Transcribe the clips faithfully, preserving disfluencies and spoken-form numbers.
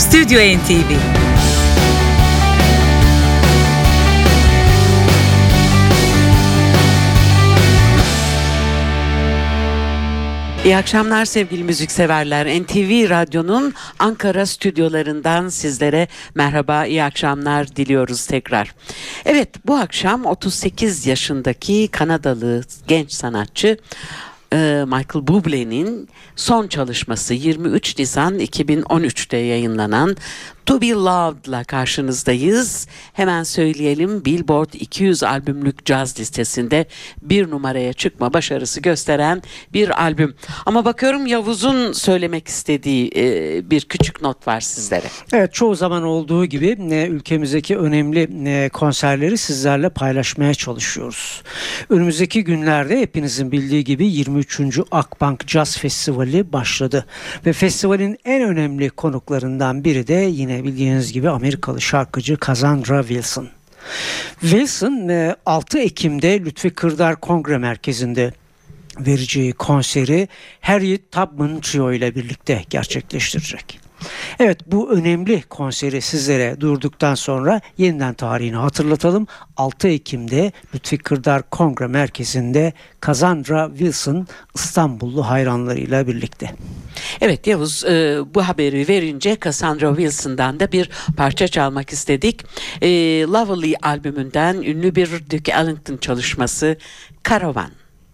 Stüdyo N T V. İyi akşamlar sevgili müzikseverler. N T V Radyo'nun Ankara stüdyolarından sizlere merhaba, iyi akşamlar diliyoruz tekrar. Evet, bu akşam otuz sekiz yaşındaki Kanadalı genç sanatçı Michael Bublé'nin son çalışması yirmi üç Nisan iki bin on üç'te yayınlanan To Be Loved'la karşınızdayız. Hemen söyleyelim, Billboard iki yüz albümlük caz listesinde bir numaraya çıkma başarısı gösteren bir albüm. Ama bakıyorum Yavuz'un söylemek istediği e, bir küçük not var sizlere. Evet, çoğu zaman olduğu gibi e, ülkemizdeki önemli e, konserleri sizlerle paylaşmaya çalışıyoruz. Önümüzdeki günlerde hepinizin bildiği gibi yirmi üçüncü Akbank Jazz Festivali başladı. Ve festivalin en önemli konuklarından biri de yine bildiğiniz gibi Amerikalı şarkıcı Cassandra Wilson. Wilson altı Ekim'de Lütfi Kırdar Kongre Merkezi'nde vereceği konseri Harriet Tubman Trio ile birlikte gerçekleştirecek. Evet, bu önemli konseri sizlere durduktan sonra yeniden tarihini hatırlatalım. altı Ekim'de Lütfi Kırdar Kongre Merkezi'nde Cassandra Wilson İstanbullu hayranlarıyla birlikte. Evet Yavuz, e, bu haberi verince Cassandra Wilson'dan da bir parça çalmak istedik. E, Lovely albümünden ünlü bir Duke Ellington çalışması Caravan.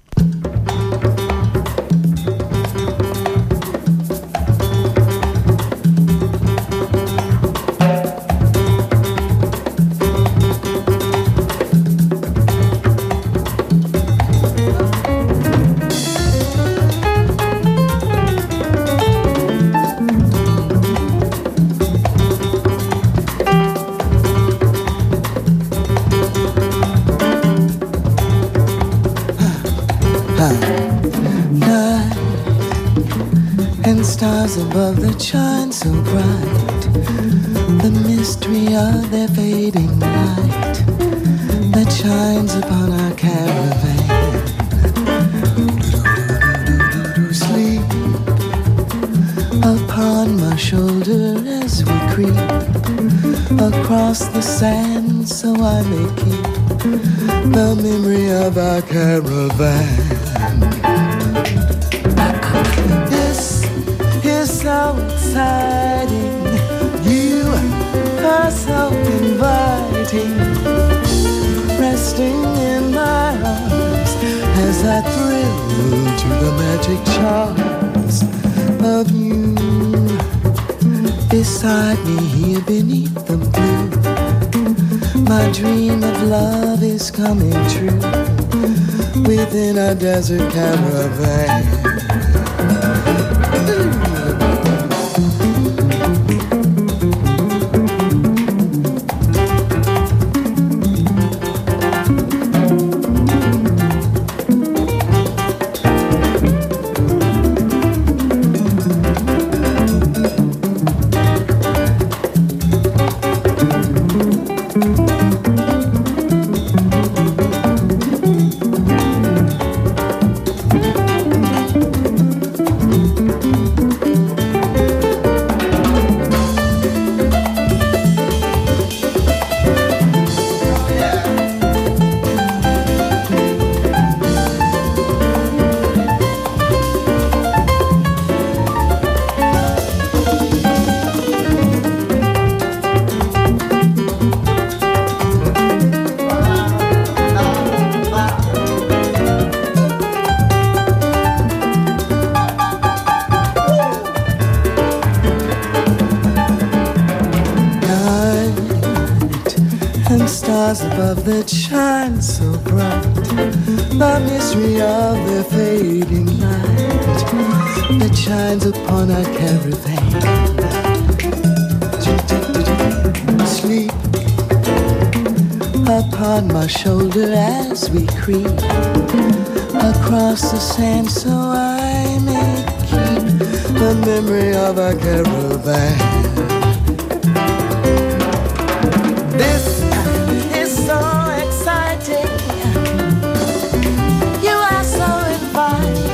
Stars above that shine so bright, the mystery of their fading light that shines upon our caravan. Sleep upon my shoulder as we creep across the sand, so I may keep the memory of our caravan. So exciting, you are so inviting, resting in my arms as I thrill to the magic charms of you. Beside me here beneath the blue, my dream of love is coming true within a desert caravan. Above that shine so bright, the mystery of the fading light that shines upon our caravan. Sleep upon my shoulder as we creep across the sand, so I may keep the memory of our caravan.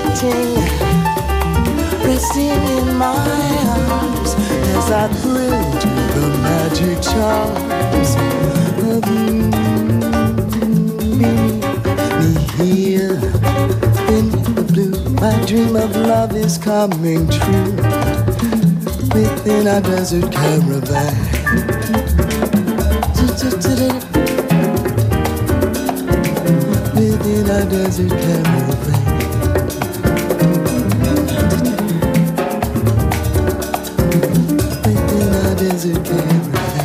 Resting in my arms as I thrill charms of me, me here in the blue. My dream of love is coming true within our desert caravan. Within our desert caravan. Within our desert caravan.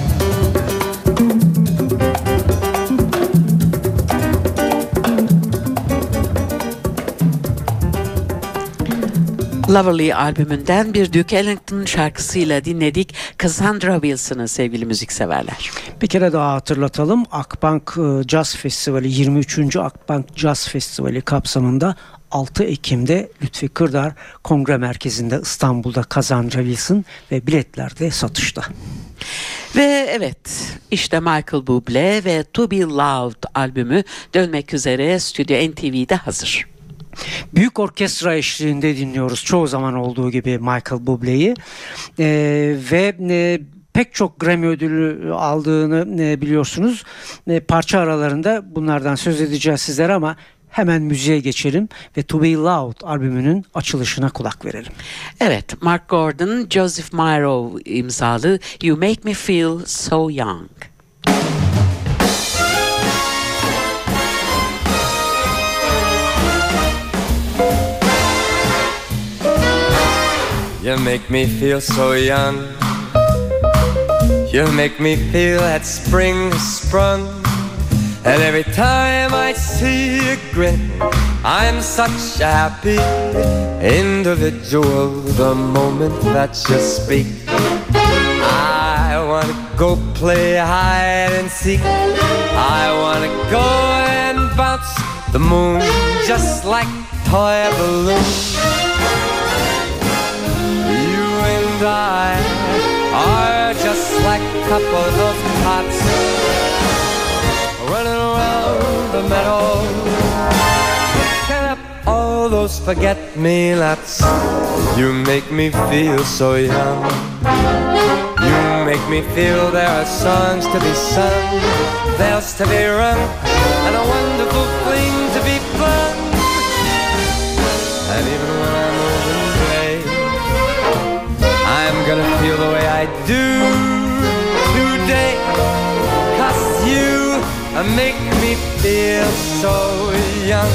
Loverly albümünden bir Duke Ellington şarkısıyla dinledik Cassandra Wilson'ı sevgili müzikseverler. Bir kere daha hatırlatalım. Akbank Jazz Festivali, yirmi üçüncü Akbank Jazz Festivali kapsamında altı Ekim'de Lütfi Kırdar Kongre Merkezi'nde İstanbul'da Cassandra Wilson ve biletler de satışta. Ve evet, işte Michael Bublé ve To Be Loved albümü dönmek üzere Stüdyo N T V'de hazır. Büyük orkestra eşliğinde dinliyoruz çoğu zaman olduğu gibi Michael Bublé'yi ee, ve e, pek çok Grammy ödülü aldığını e, biliyorsunuz. E, parça aralarında bunlardan söz edeceğiz sizlere ama hemen müziğe geçelim ve To Be Loved albümünün açılışına kulak verelim. Evet, Mark Gordon, Joseph Miro imzalı You Make Me Feel So Young. You make me feel so young. You make me feel that spring has sprung. And every time I see you grin, I'm such a happy individual. The moment that you speak, I wanna go play hide and seek. I wanna go and bounce the moon just like a toy balloon. And I are just like a couple of tots running around the meadow, picking up all those forget-me-nots. You make me feel so young. You make me feel there are songs to be sung, bells to be rung, and a wonderful fling to be flung. And even when I'm old and gray, I'm gonna feel the way I do today, 'cause you make me feel so young.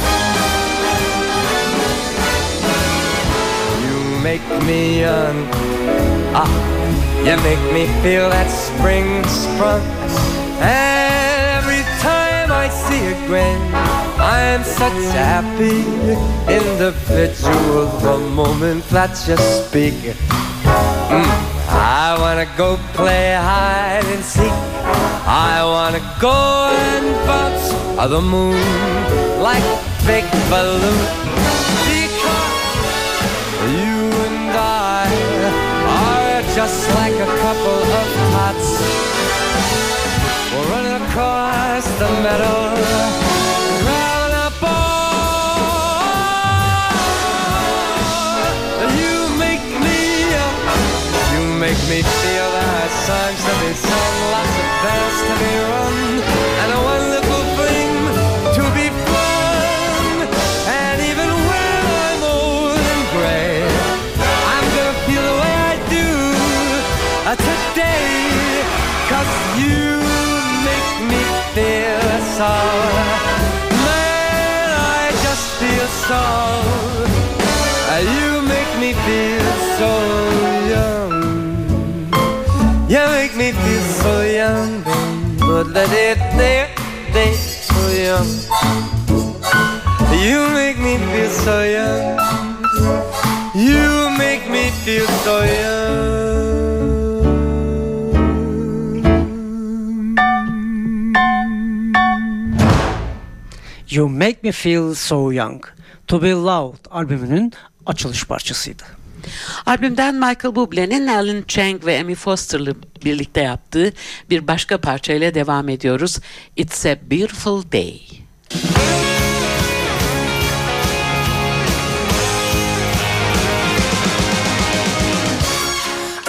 You make me young. Ah, you make me feel that spring sprung. And every time I see you grin, I'm such a happy individual. The moment that you speak, mm, I wanna go play hide and seek. I wanna go and bounce the moon like a big balloon. Because you and I are just like a couple of tots. We're running across the meadow, grabbing a ball. You make me up. You make me feel there are songs to be sung, lots of bells to be rung, and a wonderful fling to be flung. And even when I'm old and gray, I'm gonna feel the way I do uh, today, 'cause you make me feel so. Man, I just feel so. Uh, you make me feel so young. You make me feel so young, but let it there, they so young. You make me feel so young. You make me feel so young. You Make Me Feel So Young, To Be Loved albümünün açılış parçasıydı. Albümden Michael Bublé'nin Alan Chang ve Amy Foster'lı birlikte yaptığı bir başka parçayla devam ediyoruz. It's a Beautiful Day.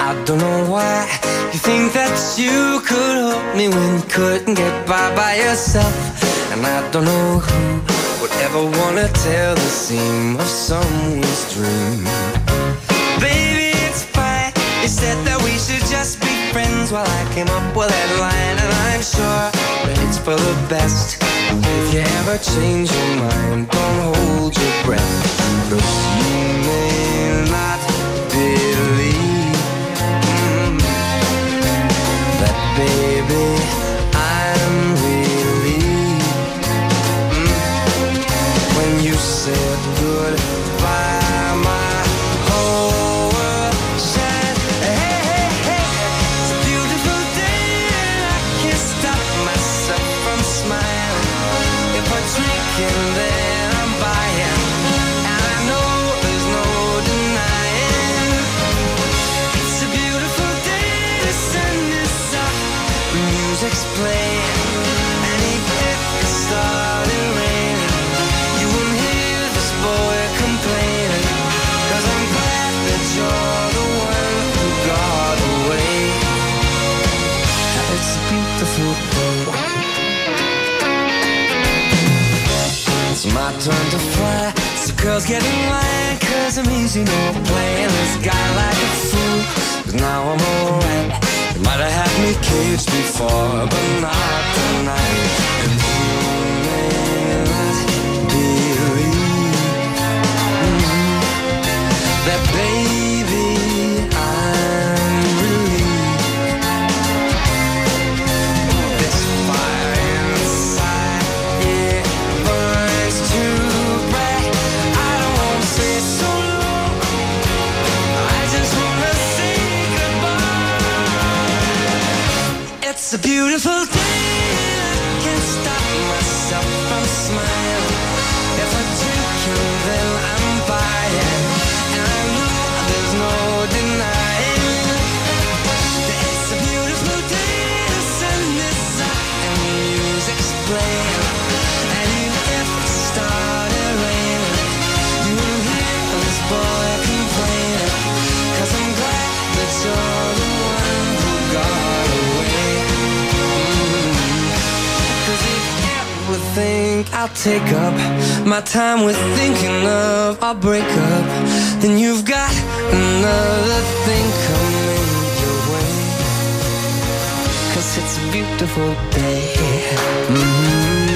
I don't know why you think that you could help me when you couldn't get by by yourself. And I don't know who would ever wanna tell the seam of someone's dream. Baby, it's fine. You said that we should just be friends while I came up with that line, and I'm sure that it's for the best. If you ever change your mind, don't hold your breath, 'cause you may not believe mm, that, baby, I'm relieved mm, when you said goodbye. My whole world shined. Hey, hey, hey, it's a beautiful day and I can't stop myself from smiling. If I drink and then I'm buying, and I know there's no denying. It's a beautiful day, the sun is up, the music's playing, and even if it started raining, you wouldn't hear this boy complaining, 'cause I'm glad that you're the one who got away. It's a beautiful day. It's my turn to fly. So girls get in line, 'cause I'm easy, no playing this guy like a fool. 'Cause now I'm alright. You might have had me caged before, but not tonight. And you may not believe mm, that, baby, I'm relieved. This fire inside, it burns too bright. I don't wanna stay so long, I just wanna say goodbye. It's a beautiful day, I can't stop myself from smiling. If I drink and then I'm buying, and I know there's no denying. It's a beautiful day, the sun is up and the music's playing, and even if it started raining, you won't hear this boy complaining, 'cause I'm glad that you're the one who got away. Mm. 'Cause if you ever think I'll take up my time with thinking of our breakup, then you've got another thing coming your way. 'Cause it's a beautiful day. Mm.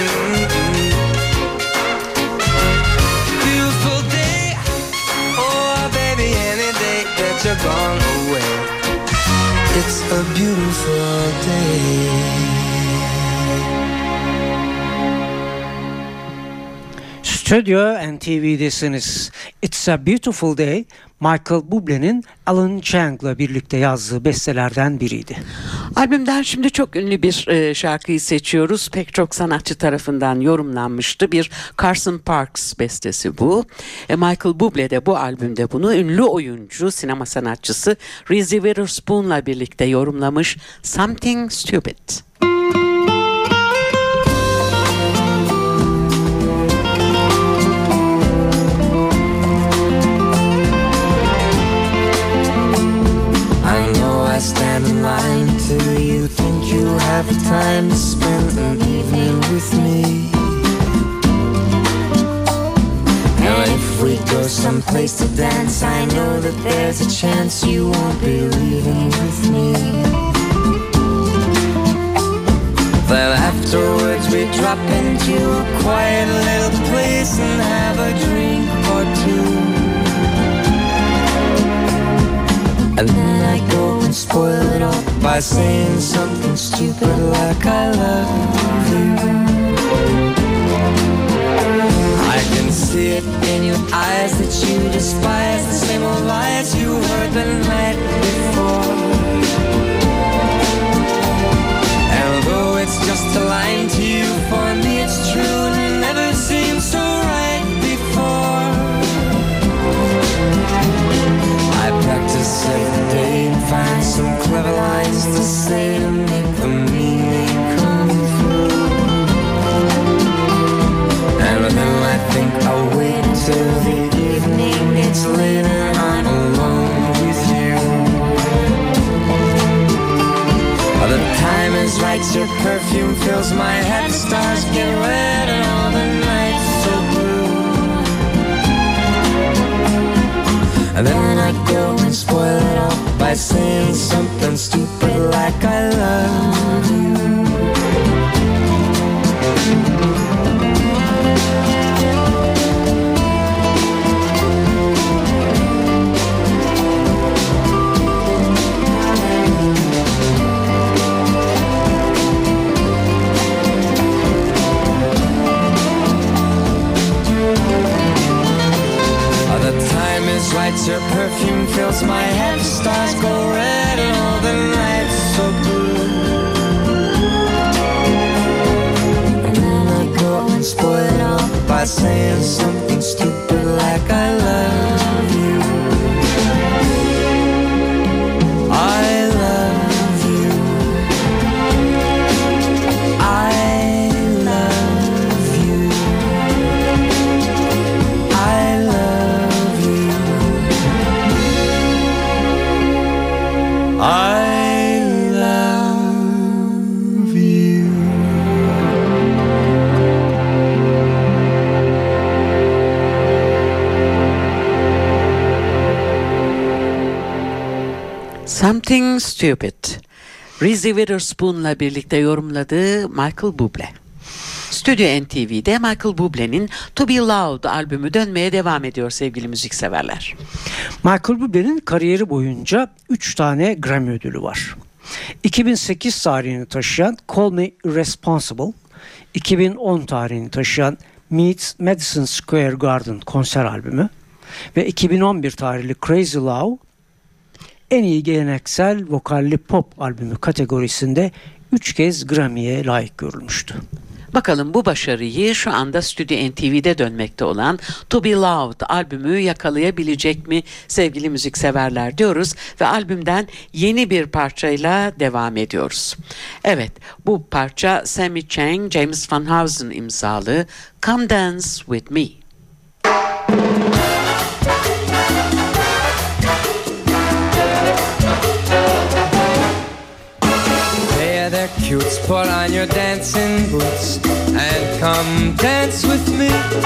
Beautiful day. Oh, baby, any day that you're gone away. It's a beautiful day. Stüdyo N T V'desiniz. It's a Beautiful Day, Michael Bublé'nin Alan Chang'la birlikte yazdığı bestelerden biriydi. Albümden şimdi çok ünlü bir e, şarkıyı seçiyoruz. Pek çok sanatçı tarafından yorumlanmıştı. Bir Carson Parks bestesi bu. E, Michael Bublé de bu albümde bunu ünlü oyuncu, sinema sanatçısı Reese Witherspoon'la birlikte yorumlamış. Something Stupid. I stand in line till you think you have the time to spend an evening with me. And if we go someplace to dance, I know that there's a chance you won't be leaving with me. Then afterwards we drop into a quiet little place and have a drink or two. And then I go and spoil it all by saying something stupid like I love you. I can see it in your eyes that you despise the same old lies you heard the night before. And although it's just a line to you, for me it's true and it never seemed so right before. I practice every day and find some clever lines to say to make the meaning come through. And then I think I'll wait till the evening, it's late and I'm alone with you. is right, your perfume fills my head. The stars get red and all the nights so blue. And then I go and spoil it all by saying something stupid like I love you. Right, your perfume fills my head. The stars go red and all the nights so blue. And then I go and spoil it all by saying something stupid like I love you. I love you. I love you. I love you. I love you. Something Stupid. Reese Witherspoon'la birlikte yorumladığı Michael Bublé. Stüdyo N T V'de Michael Bublé'nin To Be Loved albümü dönmeye devam ediyor sevgili müzikseverler. Michael Bublé'nin kariyeri boyunca üç tane Grammy ödülü var. iki bin sekiz tarihini taşıyan Call Me Irresponsible, iki bin on tarihini taşıyan Meet Madison Square Garden konser albümü ve iki bin on bir tarihli Crazy Love en iyi geleneksel vokalli pop albümü kategorisinde üç kez Grammy'ye layık görülmüştü. Bakalım bu başarıyı şu anda Stüdyo N T V'de dönmekte olan To Be Loved albümü yakalayabilecek mi sevgili müzikseverler diyoruz ve albümden yeni bir parçayla devam ediyoruz. Evet, bu parça Sammy Chang, James Van Heusen imzalı Come Dance With Me. Cutes, put on your dancing boots and come dance with me.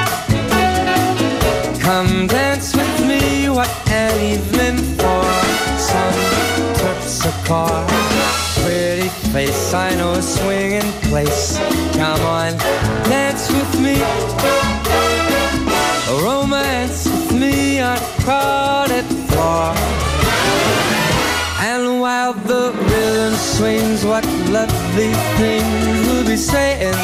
Come dance with me, what an evening for some terpsichore. Pretty face, I know a swinging place. Come on, dance with me. Romance with me on crowded floor. And while the rhythm swings, what lovely things we'll be saying.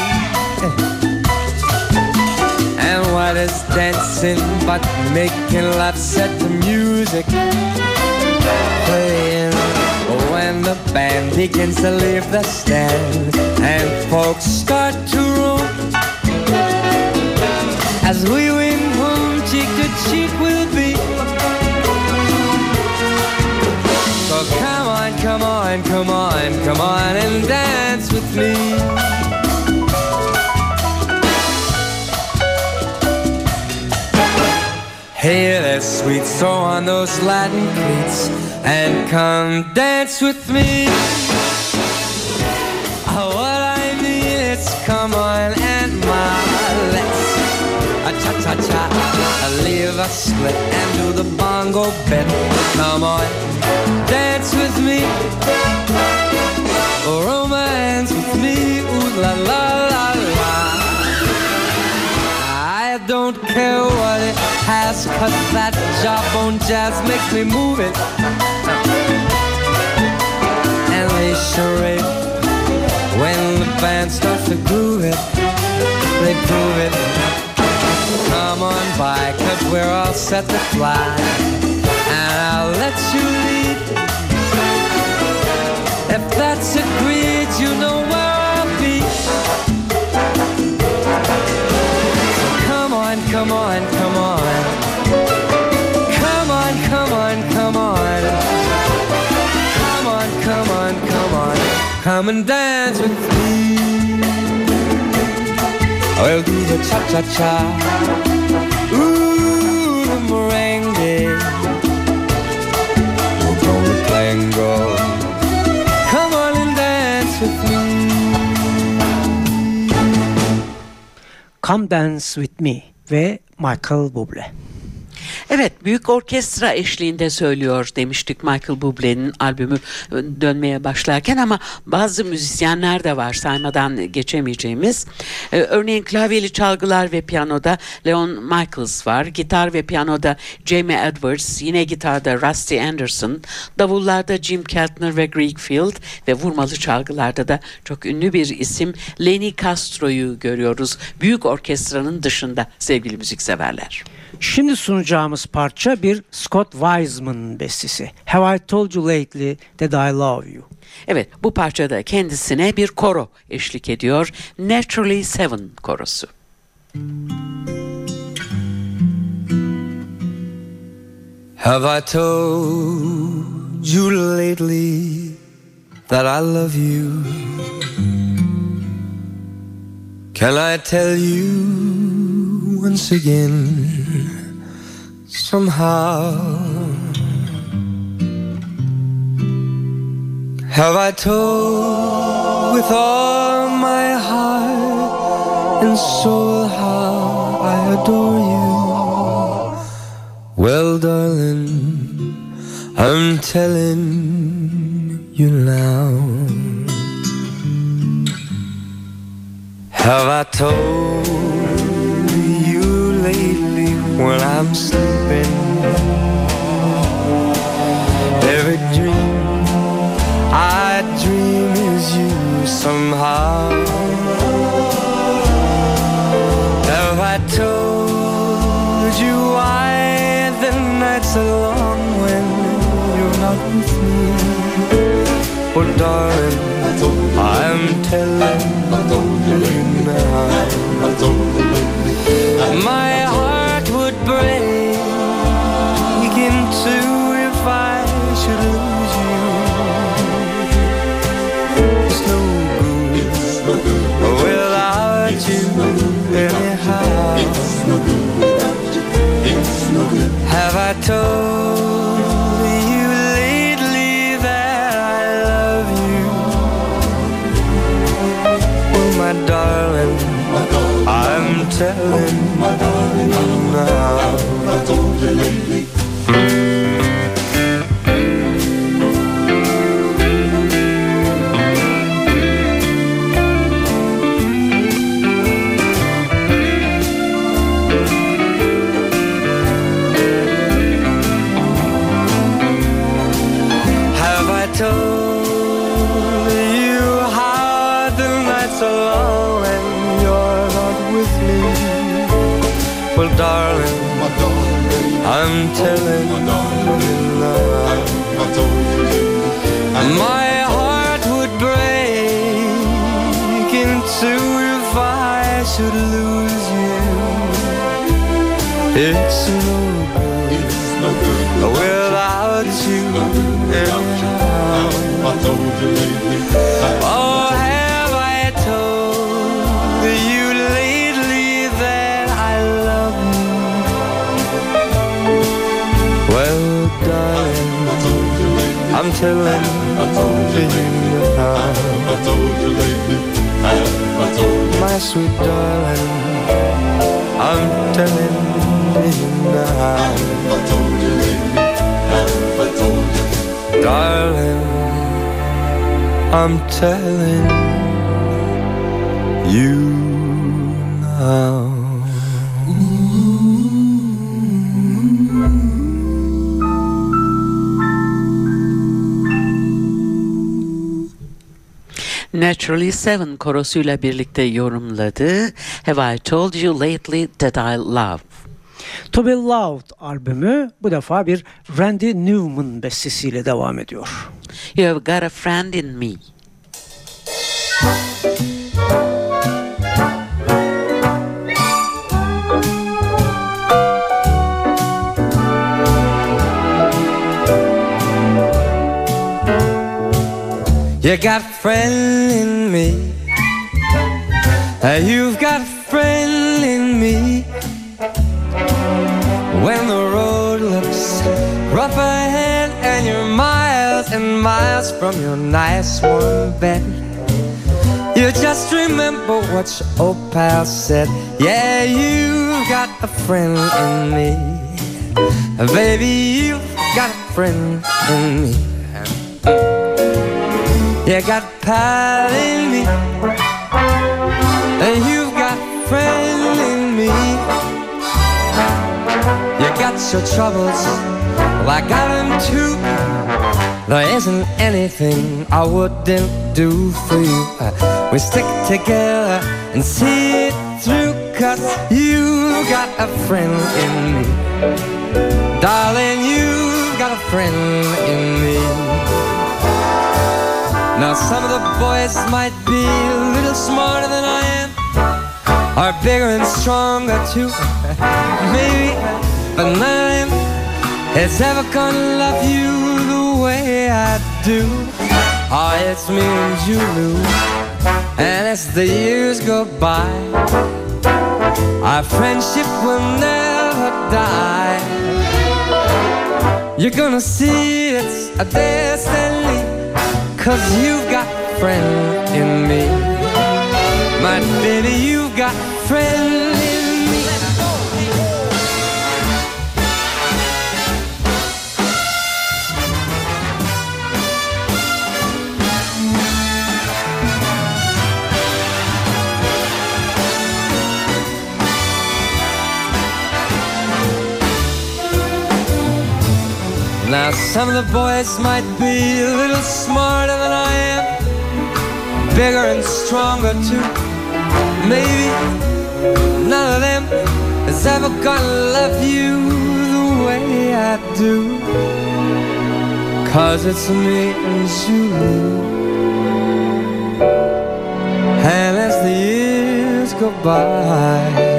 And what is dancing but making love set the music playing. When the band begins to leave the stand and folks start to roam, as we wing home, cheek to cheek we'll be. So come on, come on, come on, come on and dance with me. Hey there, sweet, throw on those Latin cleats and come dance with me. Oh, what I mean is come on and my let's a cha-cha-cha, leave a split and do the bongo bit. Come on, dance with me, romance with me, ooh la la la la. I don't care what it has, cause that jawbone jazz makes me move it. And they charade when the band starts to groove it, they prove it. Come on by, cause we're all set to fly, and I'll let you lead. If that's agreed, you know where I'll be. So come on, come on, come on. Come on, come on, come on. Come on, come on, come on. Come and dance with me. I'll do the cha-cha-cha, ooh, the merengue, we'll go the tango. Come on and dance with me. Come Dance With Me ve Michael Bublé. Evet, büyük orkestra eşliğinde söylüyor demiştik Michael Bublé'nin albümü dönmeye başlarken, ama bazı müzisyenler de var saymadan geçemeyeceğimiz. Ee, örneğin klavyeli çalgılar ve piyanoda Leon Michaels var. Gitar ve piyanoda Jamie Edwards, yine gitarda Rusty Anderson, davullarda Jim Keltner ve Greg Field ve vurmalı çalgılarda da çok ünlü bir isim Lenny Castro'yu görüyoruz. Büyük orkestranın dışında sevgili müzikseverler. Şimdi sunacağımız parça bir Scott Wiseman bestesi. Have I Told You Lately That I Love You? Evet, bu parçada kendisine bir koro eşlik ediyor. Naturally Seven korosu. Have I told you lately that I love you? Can I tell you once again? Somehow, have I told with all my heart and soul how I adore you? Well, darling, I'm telling you now. Have I told you lately when I'm sleeping? Every dream I dream is you somehow. Have I told you why the nights are long when you're not with me? Oh darling, I'm telling you now. My heart would break in two if I should lose you. It's no good without you anyhow. Have I told you lately that I love you? Well, my darling, I'm telling you now. I told you lately. Have I told you how the nights are long when you're not with me? Well, darling, I'm telling you now. My heart would break in two if I should lose you. It's no good without you anyhow. Oh, have I told you lately that I love you? Well, darling, I'm telling you now. My sweet darling, I'm telling you now. Darling, I'm telling you now. Naturally Seven korosuyla birlikte yorumladı. Have I Told You Lately That I Love? To Be Loved albümü bu defa bir Randy Newman bestesiyle devam ediyor. You Have Got a Friend in Me. You got a friend in me. You've got a friend in me. When the road looks rough ahead and you're miles and miles from your nice warm bed, You just remember what your old pal said. Yeah, you got a friend in me. Baby, you've got a friend in me. You got a pal in me, and you've got a friend in me. You got your troubles, well, I got them too. There isn't anything I wouldn't do for you. We stick together and see it through, 'cause you got a friend in me. Darling, you've got a friend in me. Now some of the boys might be a little smarter than I am, or bigger and stronger too, maybe, but none of them is ever gonna love you the way I do. Oh, it's me and Julie, and as the years go by, our friendship will never die. You're gonna see it's a destiny, 'cause you've got a friend in me. My baby, you've got a friend in me. Now some of the boys might be a little smarter than I am, bigger and stronger too, maybe. None of them is ever gonna love you the way I do, 'cause it's me and you. And as the years go by,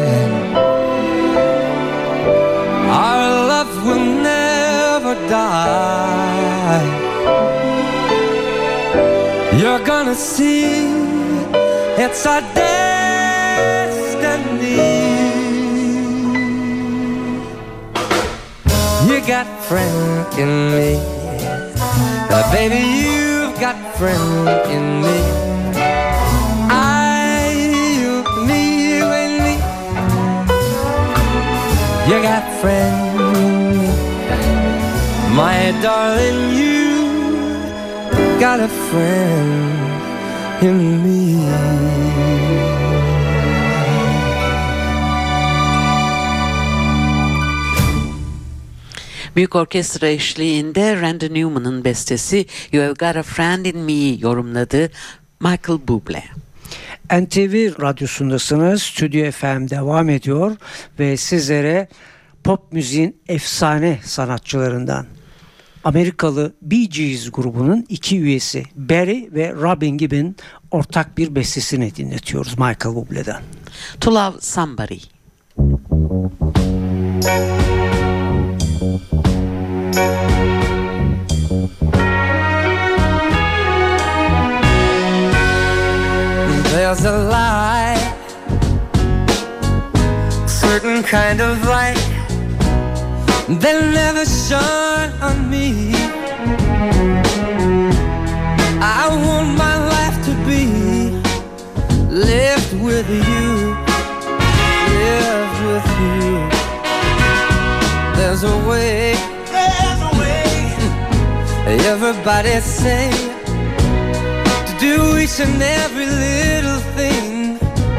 our love will never die. You're gonna see it's our destiny. You got a friend in me, uh, baby, you've got a friend in me. I, you, me, you and me. You got a friend in me, my darling, you got a friend in me. Büyük orkestra eşliğinde Randy Newman'ın bestesi You Have Got a Friend in Me yorumladığı Michael Bublé. N T V radyosundasınız. Stüdyo F M devam ediyor ve sizlere pop müziğin efsane sanatçılarından Amerikalı Bee Gees grubunun iki üyesi Barry ve Robin Gibb'in ortak bir bestesini dinletiyoruz Michael Bublé'den. To Love Somebody. There's a light, certain kind of light that never shone on me. I want my life to be lived with you, lived with you. There's a way, there's a way. Everybody say to do each and every little thing.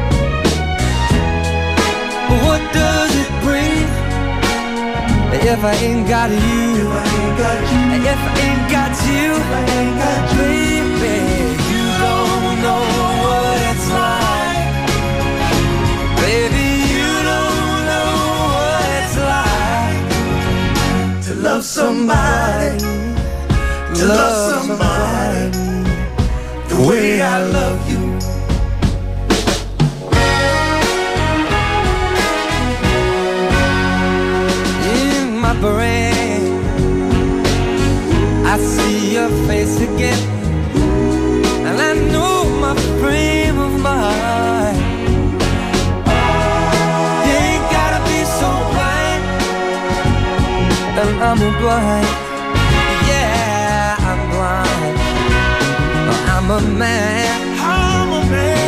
But what does it bring if I ain't got you? If I ain't got you, if I ain't got you, if I ain't got you, baby, you don't know what it's like. Baby, you don't know what it's like to love somebody, to love somebody the way I love you. In my brain, I see your face again, and I know my frame of mind. You ain't gotta be so blind, and I'm blind. Yeah, I'm blind. I'm a man, I'm a man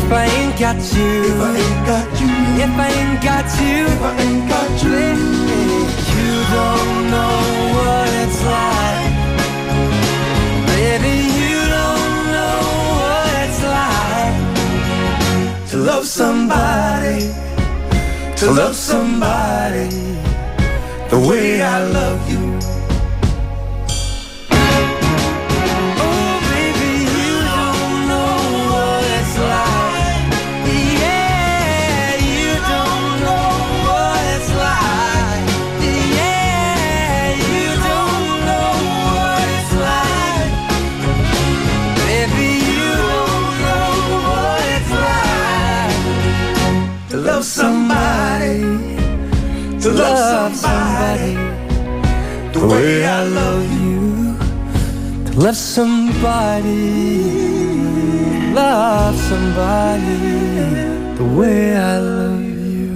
If I ain't got you, If I ain't got you, if I ain't got you, if I ain't got you, you don't know what it's like. Baby, you don't know what it's like to love somebody, to love somebody the way I love you. Oh, baby, you don't know what it's like. Yeah, you don't know what it's like. Yeah, you don't know what it's like. Baby, you don't know what it's like To love somebody, to love somebody the way I love you. to love somebody, love somebody the way I love you.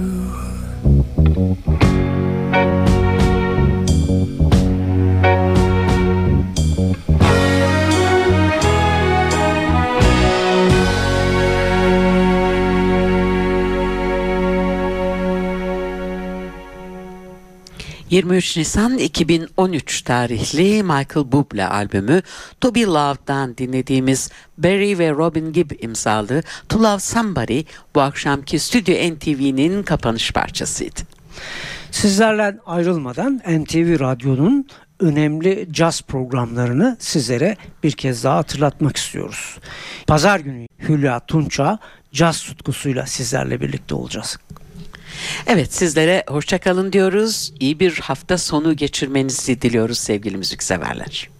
yirmi üç Nisan iki bin on üç tarihli Michael Bublé albümü To Be Loved'dan dinlediğimiz Barry ve Robin Gibb imzalı To Love Somebody bu akşamki Stüdyo N T V'nin kapanış parçasıydı. Sizlerle ayrılmadan N T V Radyo'nun önemli caz programlarını sizlere bir kez daha hatırlatmak istiyoruz. Pazar günü Hülya Tunça caz tutkusuyla sizlerle birlikte olacağız. Evet, sizlere hoşça kalın diyoruz. İyi bir hafta sonu geçirmenizi diliyoruz sevgili müzikseverler.